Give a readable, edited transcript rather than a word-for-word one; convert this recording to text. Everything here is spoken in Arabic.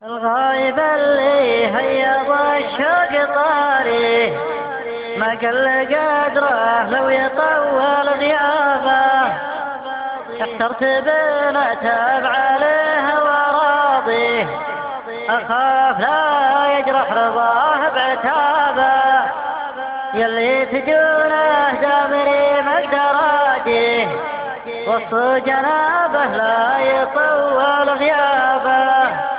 الغايب اللي هيض الشوق طاري ما قل قدره لو يطول غيابه. احترت بلا تابع عليه وراضيه، اخاف لا يجرح رضاه بعتابه. يلي تجونه دامري مقدراجيه، وسط جنابه لا يطول غيابه.